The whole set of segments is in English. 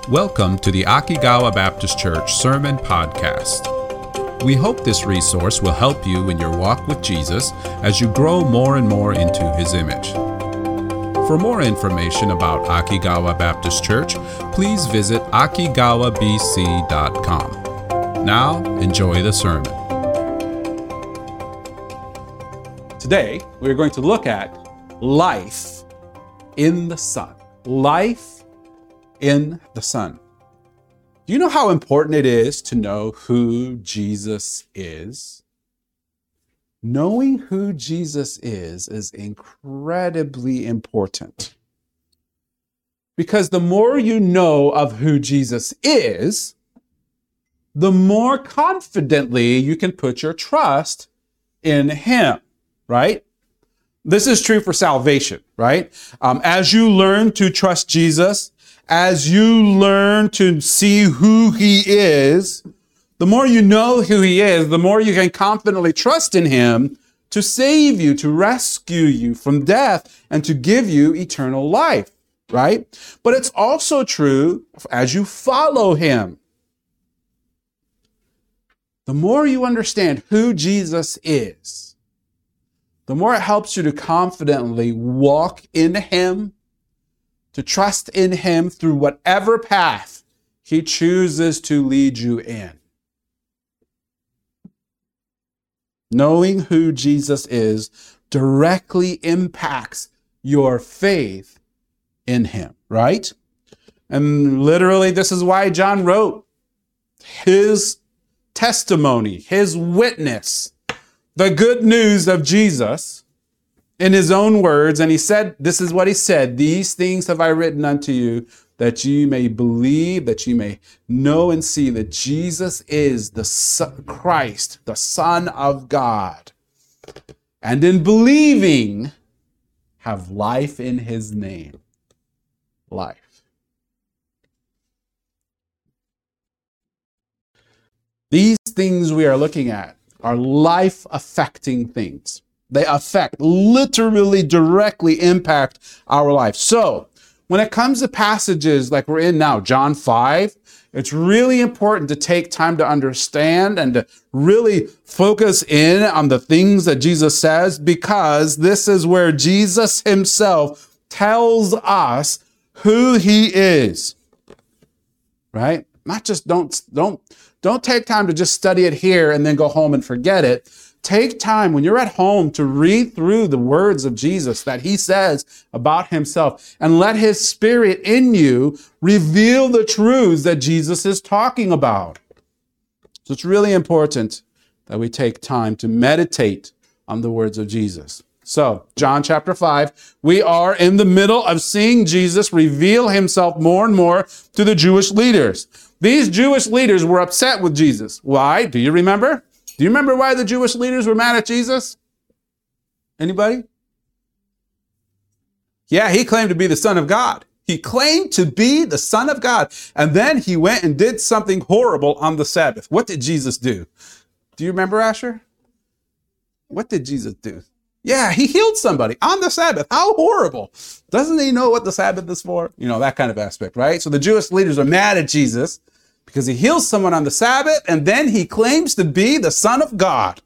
Welcome to the Akigawa Baptist Church Sermon Podcast. We hope this resource will help you in your walk with Jesus as you grow more and more into His image. For more information about Akigawa Baptist Church, please visit akigawabc.com. Now, enjoy the sermon. Today, we're going to look at life in the Son. Life in the Son. Do you know how important it is to know who Jesus is? Knowing who Jesus is incredibly important. Because the more you know of who Jesus is, the more confidently you can put your trust in Him, right? This is true for salvation, right? As you learn to trust Jesus, as you learn to see who He is, the more you know who He is, the more you can confidently trust in Him to save you, to rescue you from death, and to give you eternal life, right? But it's also true as you follow Him. The more you understand who Jesus is, the more it helps you to confidently walk in Him, to trust in Him through whatever path He chooses to lead you in. Knowing who Jesus is directly impacts your faith in Him, right? And literally, this is why John wrote his testimony, his witness, the good news of Jesus in his own words. And he said, this is what he said: "These things have I written unto you, that you may believe, that you may know and see that Jesus is the Christ, the Son of God. And in believing, have life in His name." Life. These things we are looking at are life-affecting things. They affect, literally, directly impact our life. So, when it comes to passages like we're in now, John 5, it's really important to take time to understand and to really focus in on the things that Jesus says, because this is where Jesus Himself tells us who He is, right? Not just don't take time to just study it here and then go home and forget it. Take time when you're at home to read through the words of Jesus that He says about Himself, and let His Spirit in you reveal the truths that Jesus is talking about. So it's really important that we take time to meditate on the words of Jesus. So, John chapter 5, we are in the middle of seeing Jesus reveal Himself more and more to the Jewish leaders. These Jewish leaders were upset with Jesus. Why? Do you remember? Do you remember why the Jewish leaders were mad at Jesus? Anybody? Yeah, He claimed to be the Son of God. He claimed to be the Son of God. And then He went and did something horrible on the Sabbath. What did Jesus do? Do you remember, Asher? What did Jesus do? Yeah, He healed somebody on the Sabbath. How horrible. Doesn't He know what the Sabbath is for? You know, that kind of aspect, right? So the Jewish leaders are mad at Jesus because He heals someone on the Sabbath, and then He claims to be the Son of God.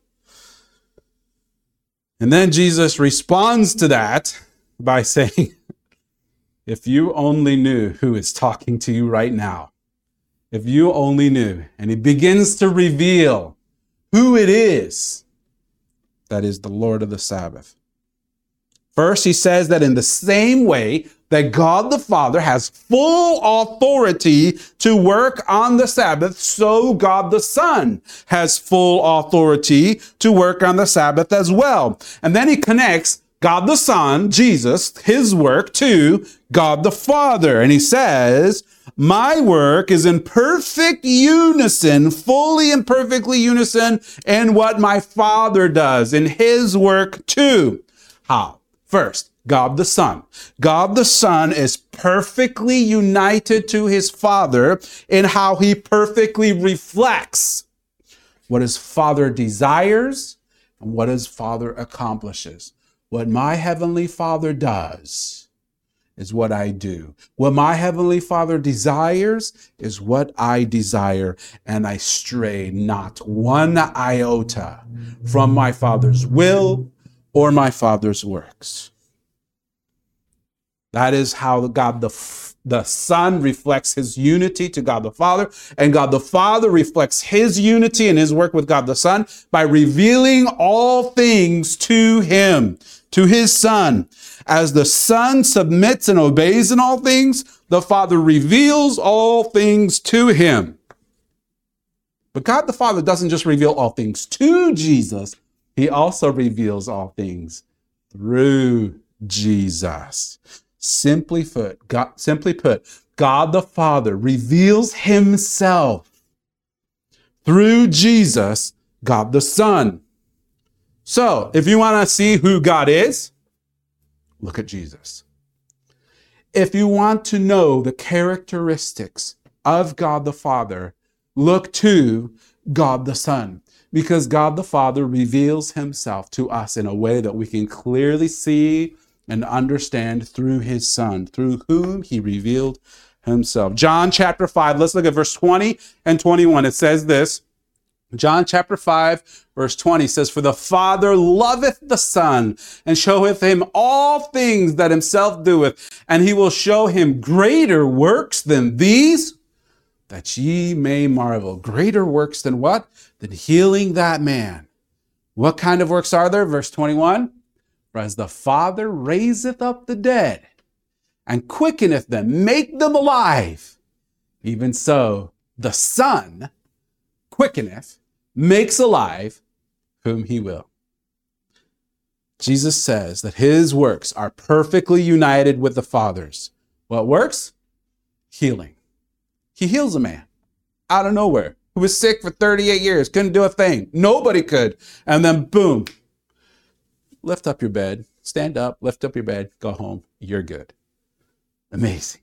And then Jesus responds to that by saying, if you only knew who is talking to you right now, if you only knew. And He begins to reveal who it is that is the Lord of the Sabbath. First, He says that in the same way that God the Father has full authority to work on the Sabbath, so God the Son has full authority to work on the Sabbath as well. And then He connects God the Son, Jesus, His work, to God the Father. And He says, my work is in perfect unison, fully and perfectly unison in what my Father does, in His work too. How? First, God the Son. God the Son is perfectly united to His Father in how He perfectly reflects what His Father desires and what His Father accomplishes. What my Heavenly Father does is what I do. What my Heavenly Father desires is what I desire, and I stray not one iota from my Father's will or my Father's works. That is how God the Son reflects his unity to God the Father, and God the Father reflects his unity and his work with God the Son by revealing all things to him, to his Son. As the Son submits and obeys in all things, the Father reveals all things to him. But God the Father doesn't just reveal all things to Jesus, he also reveals all things through Jesus. Simply put, God the Father reveals himself through Jesus, God the Son. So, if you want to see who God is, look at Jesus. If you want to know the characteristics of God the Father, look to God the Son, because God the Father reveals himself to us in a way that we can clearly see and understand through his Son, through whom he revealed himself. John chapter 5, let's look at verse 20 and 21. It says this, John chapter 5, verse 20 says, "For the Father loveth the Son, and showeth him all things that himself doeth, and he will show him greater works than these, that ye may marvel." Greater works than what? Than healing that man. What kind of works are there? Verse 21, "For as the Father raiseth up the dead, and quickeneth them, make them alive, even so the Son quickeneth, makes alive whom he will." Jesus says that his works are perfectly united with the Father's. What works? Healing. He heals a man out of nowhere who was sick for 38 years, couldn't do a thing. Nobody could. And then boom, lift up your bed, stand up, lift up your bed, go home. You're good. Amazing.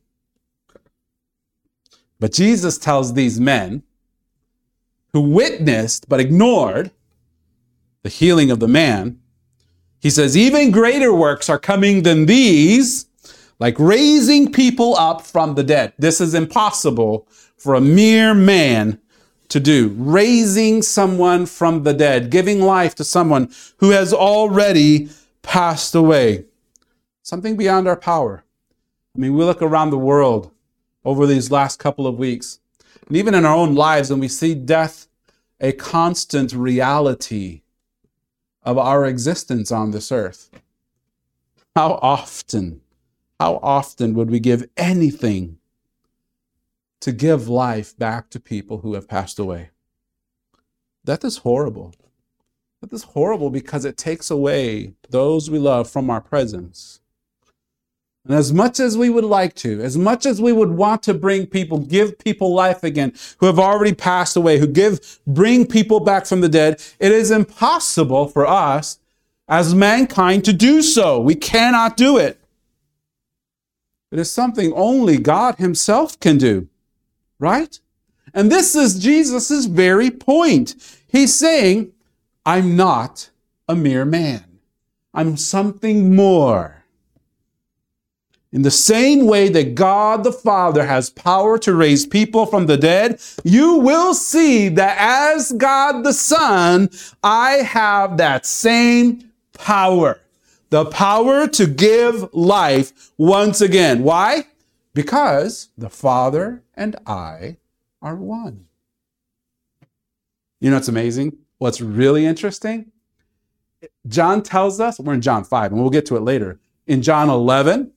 But Jesus tells these men who witnessed but ignored the healing of the man, he says, "Even greater works are coming than these, like raising people up from the dead." This is impossible for a mere man to do. Raising someone from the dead, giving life to someone who has already passed away. Something beyond our power. I mean, we look around the world over these last couple of weeks, and even in our own lives, and we see death a constant reality of our existence on this earth. How often would we give anything to give life back to people who have passed away? Death is horrible. Death is horrible because it takes away those we love from our presence. And as much as we would like to, as much as we would want to give people life again who have already passed away, bring people back from the dead, it is impossible for us as mankind to do so. We cannot do it. It is something only God himself can do, right? And this is Jesus' very point. He's saying, I'm not a mere man. I'm something more. In the same way that God the Father has power to raise people from the dead, you will see that as God the Son, I have that same power. The power to give life once again. Why? Because the Father and I are one. You know what's amazing? What's really interesting? John tells us, we're in John 5, and we'll get to it later. In John 11,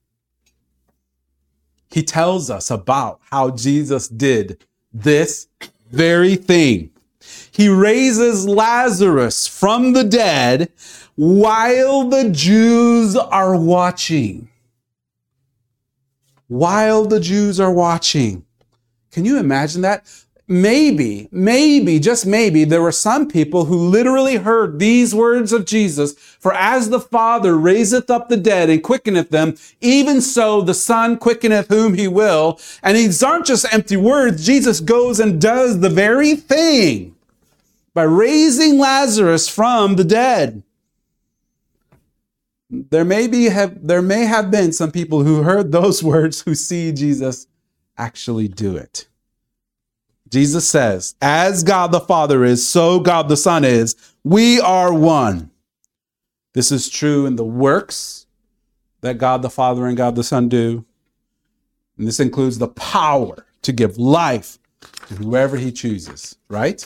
he tells us about how Jesus did this very thing. He raises Lazarus from the dead while the Jews are watching. While the Jews are watching. Can you imagine that? Maybe, just maybe, there were some people who literally heard these words of Jesus, "For as the Father raiseth up the dead and quickeneth them, even so the Son quickeneth whom he will." And these aren't just empty words. Jesus goes and does the very thing by raising Lazarus from the dead. There may have been some people who heard those words who see Jesus actually do it. Jesus says, as God the Father is, so God the Son is. We are one. This is true in the works that God the Father and God the Son do. And this includes the power to give life to whoever he chooses, right?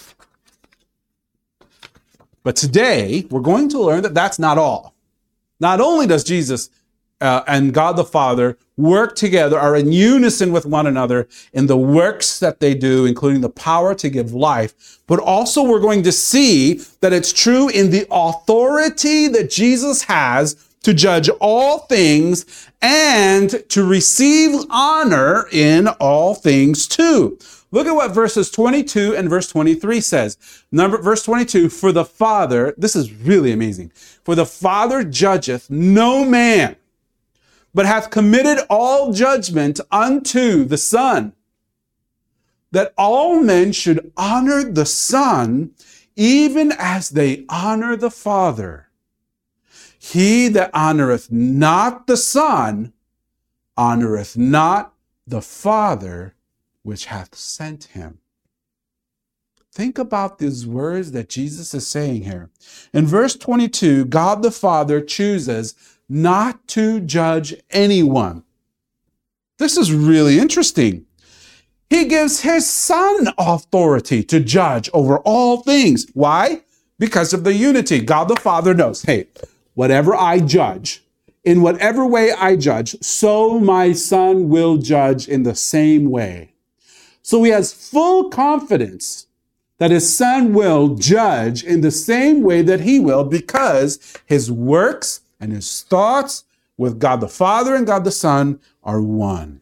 But today, we're going to learn that that's not all. Not only does Jesus and God the Father work together, are in unison with one another in the works that they do, including the power to give life, but also we're going to see that it's true in the authority that Jesus has to judge all things and to receive honor in all things too. Look at what verses 22 and verse 23 says. Verse 22, for the Father, this is really amazing. For the Father judgeth no man, but hath committed all judgment unto the Son, that all men should honor the Son, even as they honor the Father. He that honoreth not the Son, honoreth not the Father which hath sent him. Think about these words that Jesus is saying here. In verse 22, God the Father chooses not to judge anyone. This is really interesting. He gives his Son authority to judge over all things. Why? Because of the unity. God the Father knows, hey, whatever I judge, in whatever way I judge, so my Son will judge in the same way. So he has full confidence that his Son will judge in the same way that he will, because his works and his thoughts with God the Father and God the Son are one.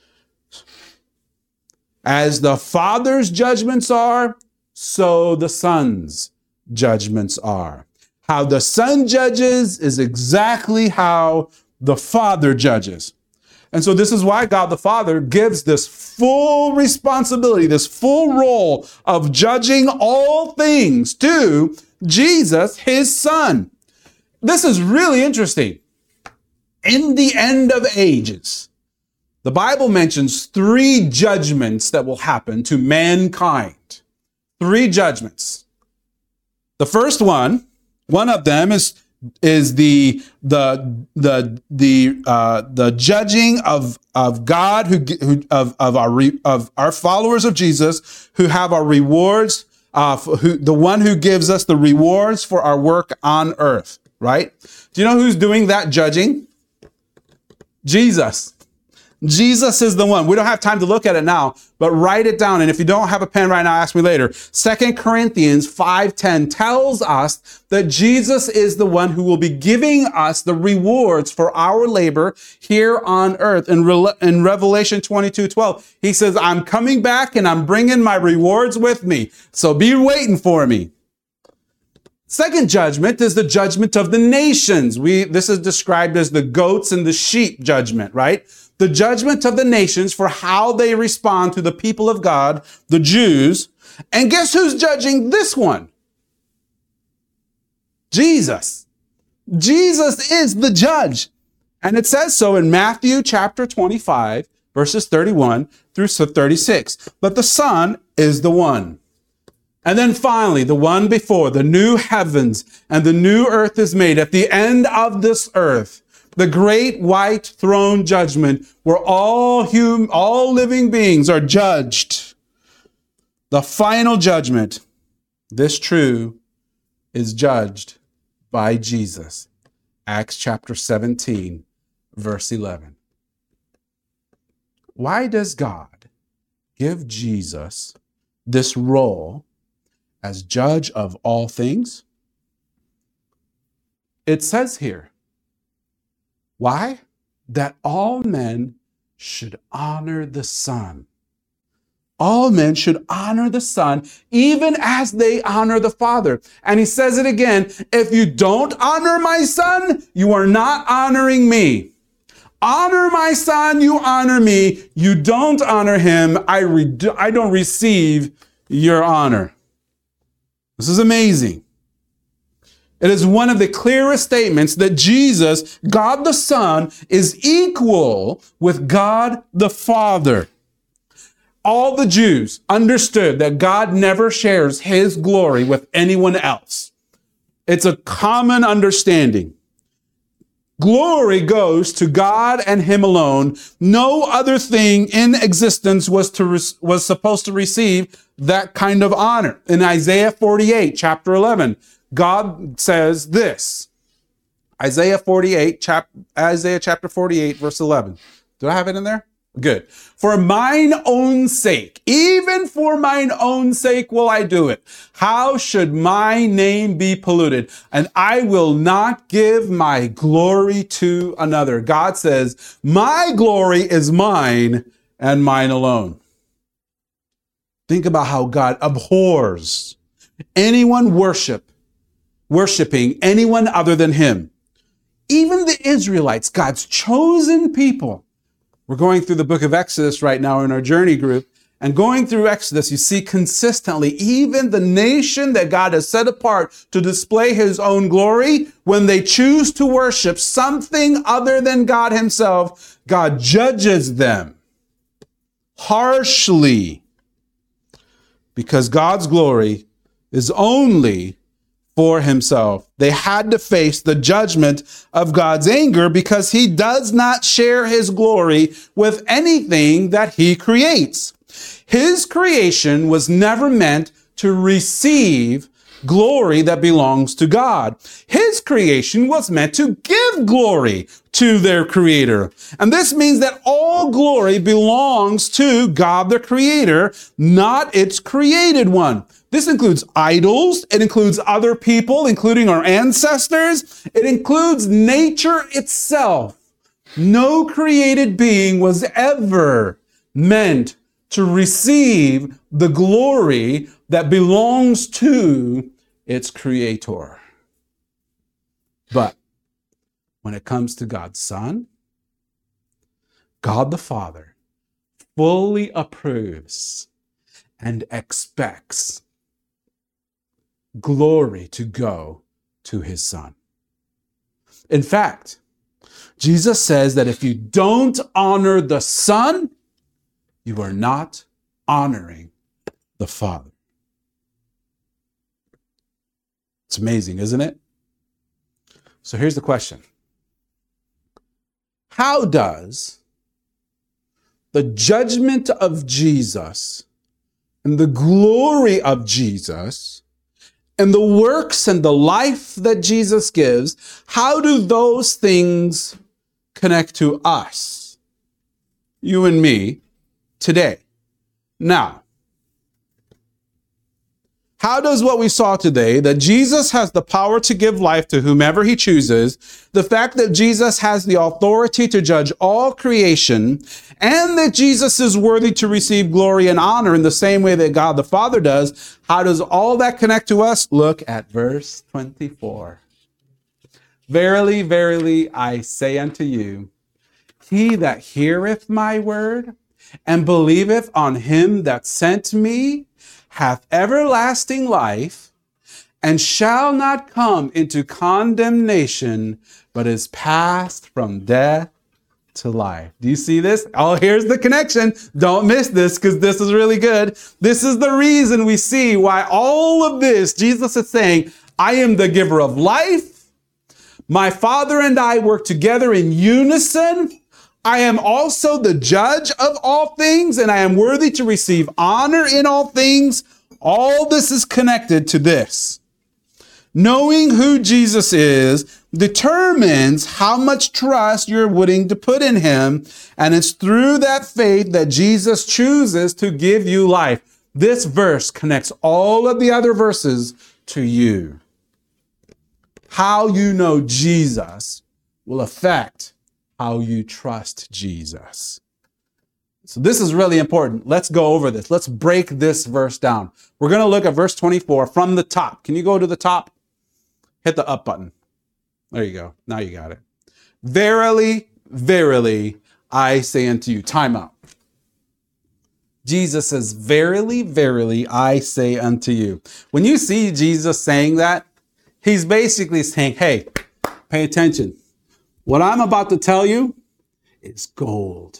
As the Father's judgments are, so the Son's judgments are. How the Son judges is exactly how the Father judges. And so this is why God the Father gives this full responsibility, this full role of judging all things to Jesus, his Son. This is really interesting. In the end of ages, the Bible mentions 3 judgments that will happen to mankind. 3 judgments. The first one of them is the judging of God of our followers of Jesus who have our rewards, the one who gives us the rewards for our work on earth. Right? Do you know who's doing that judging? Jesus. Jesus is the one. We don't have time to look at it now, but write it down. And if you don't have a pen right now, ask me later. 2 Corinthians 5:10 tells us that Jesus is the one who will be giving us the rewards for our labor here on earth. In Revelation 22:12, he says, I'm coming back and I'm bringing my rewards with me. So be waiting for me. Second judgment is the judgment of the nations. This is described as the goats and the sheep judgment, right? The judgment of the nations for how they respond to the people of God, the Jews. And guess who's judging this one? Jesus. Jesus is the judge. And it says so in Matthew chapter 25, verses 31 through 36. But the Son is the one. And then finally, the one before, the new heavens and the new earth is made at the end of this earth. The great white throne judgment where all living beings are judged. The final judgment, this true, is judged by Jesus. Acts chapter 17, verse 11. Why does God give Jesus this role as judge of all things? It says here, why? That all men should honor the Son. All men should honor the Son, even as they honor the Father. And he says it again, if you don't honor my Son, you are not honoring me. Honor my Son, you honor me. You don't honor him, I don't receive your honor. This is amazing. It is one of the clearest statements that Jesus, God the Son, is equal with God the Father. All the Jews understood that God never shares his glory with anyone else. It's a common understanding. Glory goes to God and him alone. No other thing in existence was supposed to receive that kind of honor. In Isaiah 48, chapter 11, God says this. Isaiah chapter 48, verse 11. Do I have it in there? Good. For mine own sake, even for mine own sake will I do it. How should my name be polluted? And I will not give my glory to another. God says, my glory is mine and mine alone. Think about how God abhors anyone worshiping anyone other than him. Even the Israelites, God's chosen people. We're going through the book of Exodus right now in our journey group. And going through Exodus, you see consistently, even the nation that God has set apart to display his own glory, when they choose to worship something other than God himself, God judges them harshly, because God's glory is only for himself. They had to face the judgment of God's anger because he does not share his glory with anything that he creates. His creation was never meant to receive glory that belongs to God. His creation was meant to give glory to their creator. And this means that all glory belongs to God the creator, not its created one. This includes idols. It includes other people, including our ancestors. It includes nature itself. No created being was ever meant to receive the glory that belongs to its creator. But when it comes to God's Son, God the Father fully approves and expects glory to go to his Son. In fact, Jesus says that if you don't honor the Son, you are not honoring the Father. It's amazing, isn't it? So here's the question. How does the judgment of Jesus and the glory of Jesus and the works and the life that Jesus gives, how do those things connect to us, you and me, today? Now, how does what we saw today, that Jesus has the power to give life to whomever he chooses, the fact that Jesus has the authority to judge all creation, and that Jesus is worthy to receive glory and honor in the same way that God the Father does, how does all that connect to us? Look at verse 24. Verily, verily, I say unto you, he that heareth my word and believeth on him that sent me hath everlasting life, and shall not come into condemnation, but is passed from death to life. Do you see this? Oh, here's the connection. Don't miss this, because this is really good. This is the reason we see why all of this, Jesus is saying, I am the giver of life. My Father and I work together in unison. I am also the judge of all things, and I am worthy to receive honor in all things. All this is connected to this. Knowing who Jesus is determines how much trust you're willing to put in him, and it's through that faith that Jesus chooses to give you life. This verse connects all of the other verses to you. How you know Jesus will affect how you trust Jesus. So this is really important. Let's go over this. Let's break this verse down. We're going to look at verse 24 from the top. Can you go to the top? Hit the up button. There you go. Now you got it. Verily, verily, I say unto you. Time out. Jesus says, verily, verily, I say unto you. When you see Jesus saying that, He's basically saying, hey, pay attention. What I'm about to tell you is gold.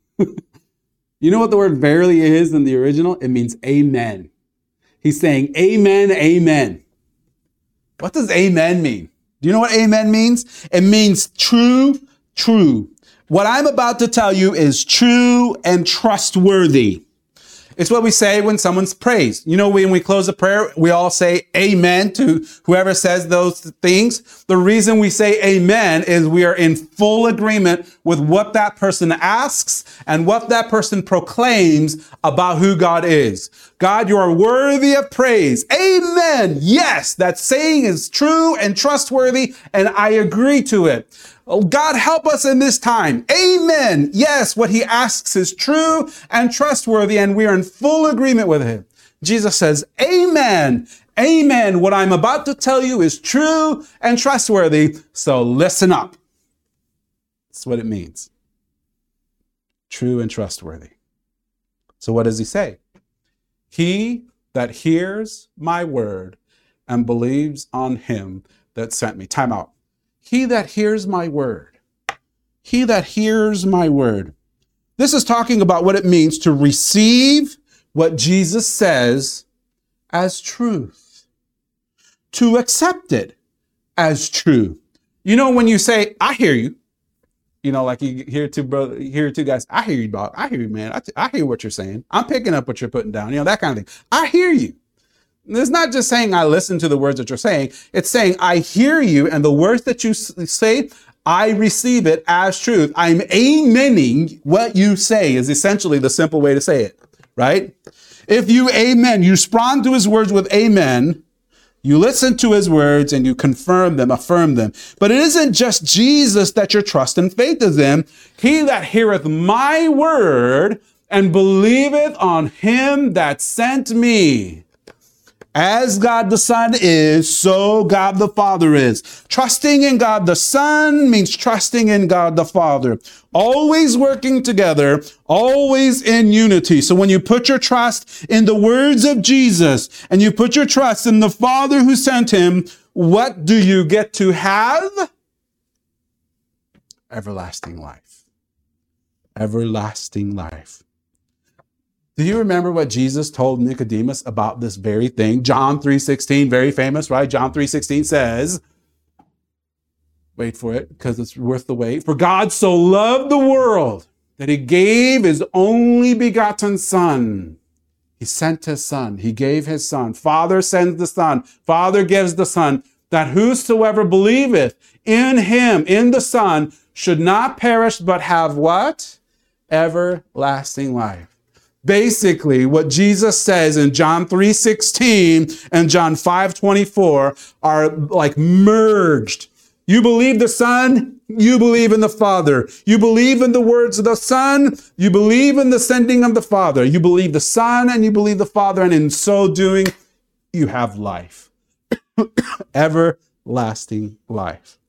You know what the word verily is in the original? It means amen. He's saying amen, amen. What does amen mean? Do you know what amen means? It means true, true. What I'm about to tell you is true and trustworthy. It's what we say when someone's praised. You know, when we close a prayer, we all say amen to whoever says those things. The reason we say amen is we are in full agreement with what that person asks and what that person proclaims about who God is. God, you are worthy of praise. Amen. Yes, that saying is true and trustworthy, and I agree to it. Oh, God, help us in this time. Amen. Yes, what he asks is true and trustworthy, and we are in full agreement with him. Jesus says, amen. Amen. What I'm about to tell you is true and trustworthy, so listen up. That's what it means. True and trustworthy. So what does he say? He that hears my word and believes on him that sent me. Time out. He that hears my word. He that hears my word. This is talking about what it means to receive what Jesus says as truth. To accept it as true. You know, when you say, I hear you. You know, like you hear two guys, I hear you, Bob. I hear you, man. I hear what you're saying. I'm picking up what you're putting down. You know, that kind of thing. I hear you. It's not just saying I listen to the words that you're saying. It's saying I hear you, and the words that you say, I receive it as truth. I'm amening what you say is essentially the simple way to say it, right? If you amen, you respond to his words with amen, you listen to his words and you confirm them, affirm them. But it isn't just Jesus that your trust and faith is in. He that heareth my word and believeth on him that sent me. As God the Son is, so God the Father is. Trusting in God the Son means trusting in God the Father. Always working together, always in unity. So when you put your trust in the words of Jesus and you put your trust in the Father who sent him, what do you get to have? Everlasting life. Everlasting life. Do you remember what Jesus told Nicodemus about this very thing? John 3:16, very famous, right? John 3:16 says, wait for it because it's worth the wait. For God so loved the world that he gave his only begotten Son. He sent his Son. He gave his Son. Father sends the Son. Father gives the Son, that whosoever believeth in him, in the Son, should not perish but have what? Everlasting life. Basically, what Jesus says in John 3:16 and John 5:24 are like merged. You believe the Son, you believe in the Father. You believe in the words of the Son, you believe in the sending of the Father. You believe the Son and you believe the Father, and in so doing, you have life. Everlasting life.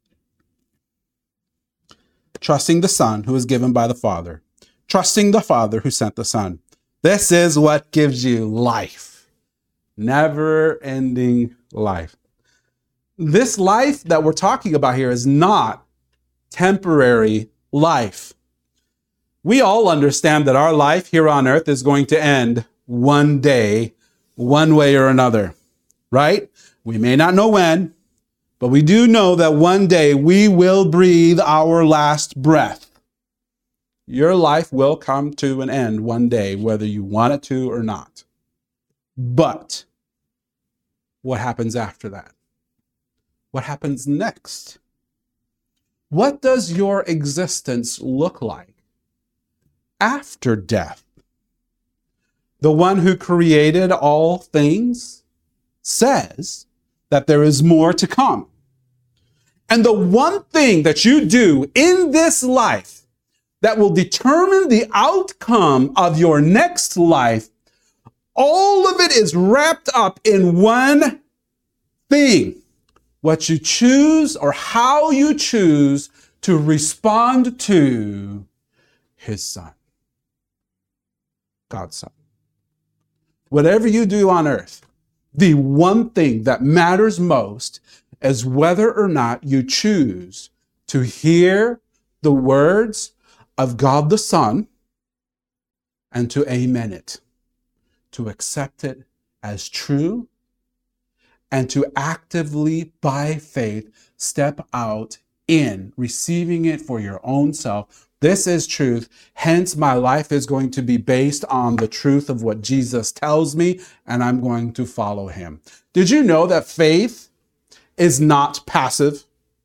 Trusting the Son who is given by the Father. Trusting the Father who sent the Son. This is what gives you life. Never-ending life. This life that we're talking about here is not temporary life. We all understand that our life here on earth is going to end one day, one way or another, right? We may not know when, but we do know that one day we will breathe our last breath. Your life will come to an end one day, whether you want it to or not. But what happens after that? What happens next? What does your existence look like after death? The one who created all things says that there is more to come. And the one thing that you do in this life that will determine the outcome of your next life, all of it is wrapped up in one thing. What you choose or how you choose to respond to his Son, God's Son. Whatever you do on earth, the one thing that matters most is whether or not you choose to hear the words of God the Son and to amen it, to accept it as true, and to actively, by faith, step out in receiving it for your own self. This is truth. Hence, my life is going to be based on the truth of what Jesus tells me, and I'm going to follow him. Did you know that faith is not passive?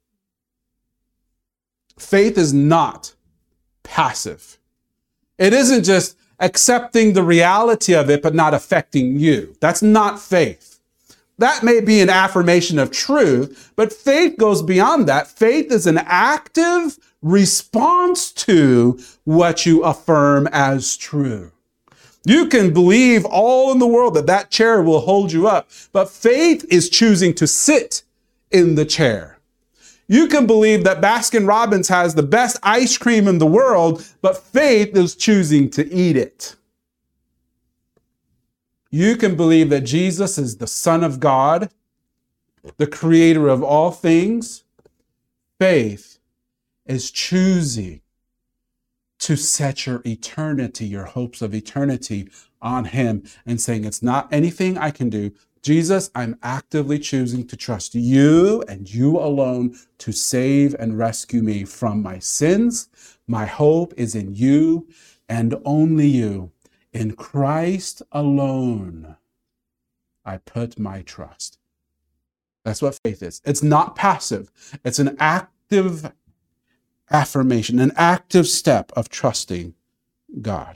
Faith is not passive. It isn't just accepting the reality of it, but not affecting you. That's not faith. That may be an affirmation of truth, but faith goes beyond that. Faith is an active response to what you affirm as true. You can believe all in the world that that chair will hold you up, but faith is choosing to sit in the chair. You can believe that Baskin-Robbins has the best ice cream in the world, but faith is choosing to eat it. You can believe that Jesus is the Son of God, the creator of all things. Faith is choosing to set your eternity, your hopes of eternity on him and saying, it's not anything I can do. Jesus, I'm actively choosing to trust you and you alone to save and rescue me from my sins. My hope is in you and only you. In Christ alone, I put my trust. That's what faith is. It's not passive. It's an active affirmation, an active step of trusting God.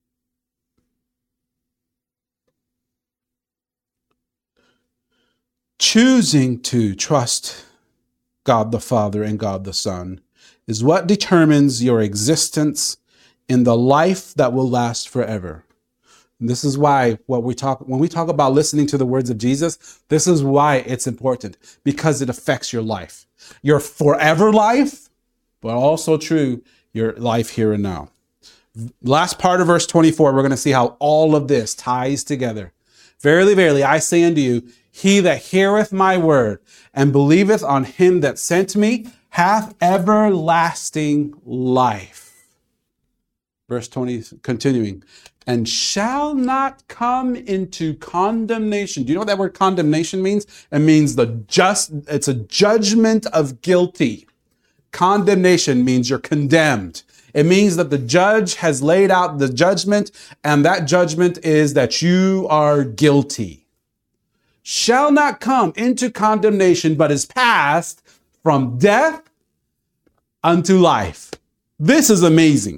Choosing to trust God the Father and God the Son is what determines your existence in the life that will last forever. And this is why when we talk about listening to the words of Jesus, this is why it's important, because it affects your life, your forever life, but also true, your life here and now. Last part of verse 24, we're going to see how all of this ties together. Verily, verily, I say unto you, he that heareth my word and believeth on him that sent me hath everlasting life. Verse 20, continuing, and shall not come into condemnation. Do you know what that word condemnation means? It means it's a judgment of guilty. Condemnation means you're condemned. It means that the judge has laid out the judgment, and that judgment is that you are guilty. Shall not come into condemnation, but is passed from death unto life. This is amazing.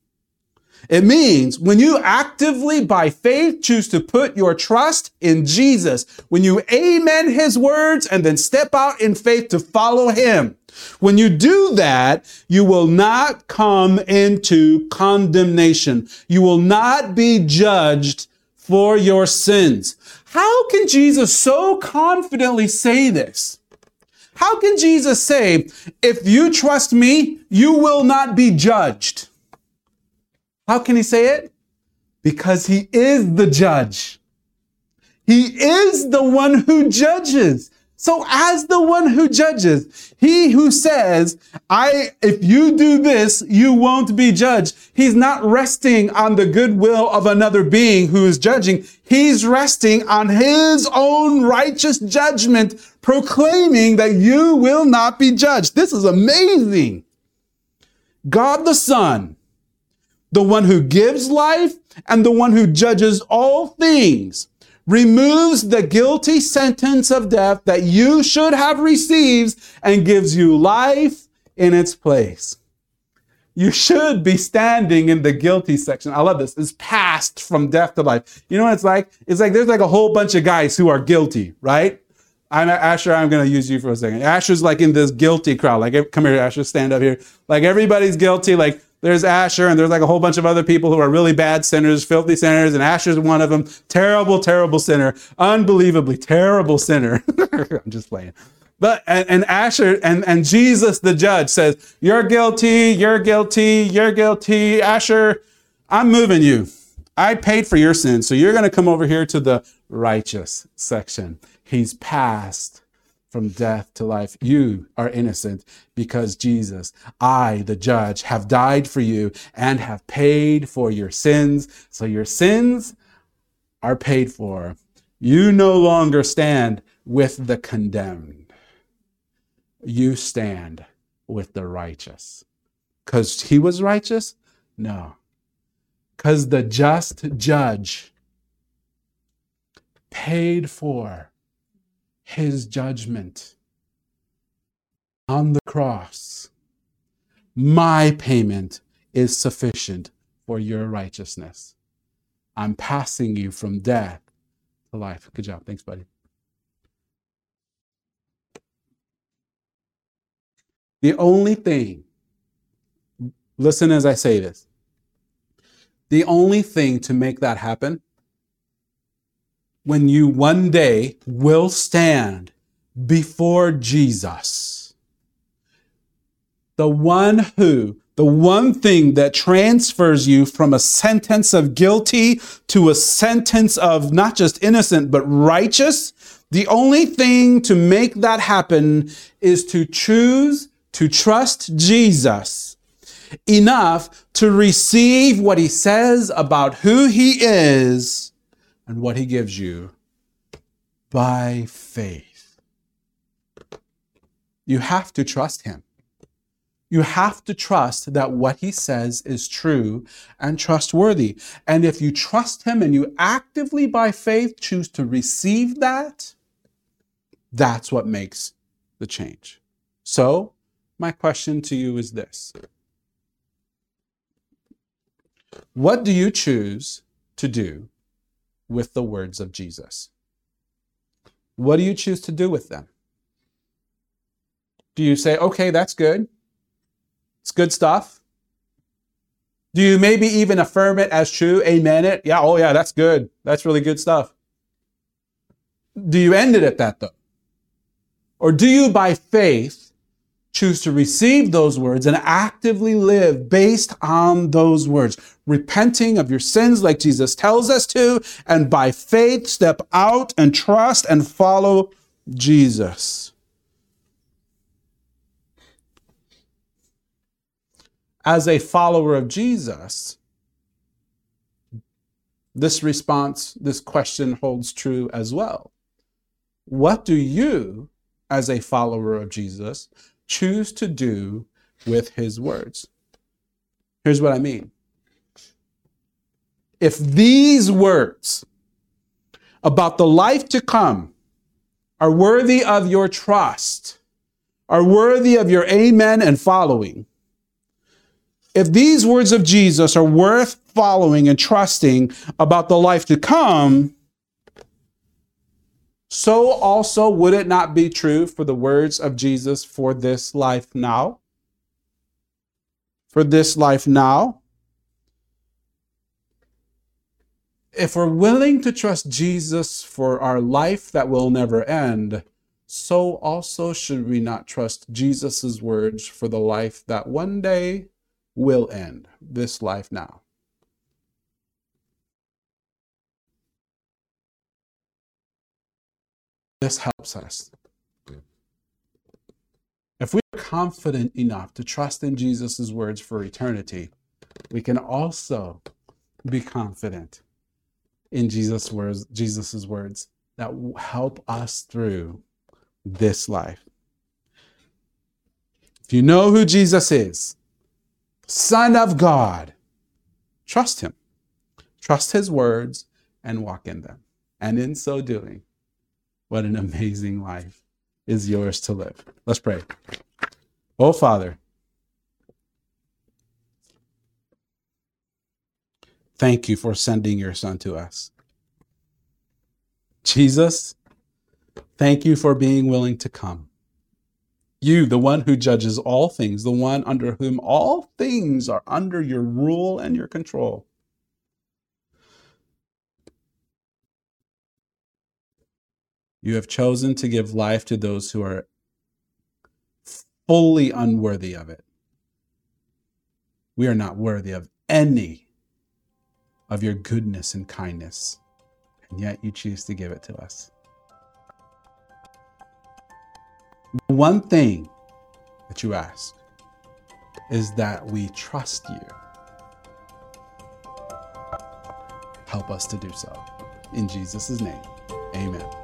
It means when you actively, by faith, choose to put your trust in Jesus, when you amen his words and then step out in faith to follow him, when you do that, you will not come into condemnation. You will not be judged for your sins. How can Jesus so confidently say this? How can Jesus say, if you trust me, you will not be judged? How can he say it? Because he is the judge. He is the one who judges. So as the one who judges, he who says, if you do this, you won't be judged. He's not resting on the goodwill of another being who is judging. He's resting on his own righteous judgment, proclaiming that you will not be judged. This is amazing. God the Son, the one who gives life and the one who judges all things, removes the guilty sentence of death that you should have received and gives you life in its place. You should be standing in the guilty section. I love this. It's passed from death to life. You know what it's like? It's like there's like a whole bunch of guys who are guilty, right? Asher, I'm going to use you for a second. Asher's like in this guilty crowd. Like, come here, Asher, stand up here. Like everybody's guilty. Like, there's Asher, and there's like a whole bunch of other people who are really bad sinners, filthy sinners, and Asher's one of them. Terrible, terrible sinner. Unbelievably terrible sinner. I'm just playing. But and Asher and Jesus, the judge, says, you're guilty, you're guilty, you're guilty. Asher, I'm moving you. I paid for your sins, so you're going to come over here to the righteous section. He's passed from death to life. You are innocent because Jesus, I, the judge, have died for you and have paid for your sins. So your sins are paid for. You no longer stand with the condemned. You stand with the righteous. Because he was righteous? No. Because the just judge paid for his judgment on the cross. My payment is sufficient for your righteousness. I'm passing you from death to life. Good job. Thanks, buddy. The only thing, listen as I say this, the only thing to make that happen, when you one day will stand before Jesus, the one thing that transfers you from a sentence of guilty to a sentence of not just innocent, but righteous, the only thing to make that happen is to choose to trust Jesus enough to receive what he says about who he is and what he gives you by faith. You have to trust him. You have to trust that what he says is true and trustworthy. And if you trust him and you actively by faith choose to receive that, that's what makes the change. So, my question to you is this. What do you choose to do with the words of Jesus? What do you choose to do with them? Do you say, okay, that's good. It's good stuff. Do you maybe even affirm it as true? Amen it? Yeah, oh yeah, that's good. That's really good stuff. Do you end it at that though? Or do you by faith choose to receive those words and actively live based on those words, repenting of your sins like Jesus tells us to, and by faith step out and trust and follow Jesus? As a follower of Jesus, this question holds true as well. What do you, as a follower of Jesus, choose to do with his words? Here's what I mean. If these words about the life to come are worthy of your trust, are worthy of your amen and following, if these words of Jesus are worth following and trusting about the life to come, so also would it not be true for the words of Jesus for this life now? For this life now? If we're willing to trust Jesus for our life that will never end, so also should we not trust Jesus' words for the life that one day will end, this life now? This helps us. If we are confident enough to trust in Jesus' words for eternity, we can also be confident in Jesus' words that will help us through this life. If you know who Jesus is, Son of God, trust him. Trust his words and walk in them. And in so doing, what an amazing life is yours to live. Let's pray. Oh, Father, thank you for sending your Son to us. Jesus, thank you for being willing to come. You, the one who judges all things, the one under whom all things are under your rule and your control. You have chosen to give life to those who are fully unworthy of it. We are not worthy of any of your goodness and kindness, and yet you choose to give it to us. The one thing that you ask is that we trust you. Help us to do so. In Jesus' name, amen.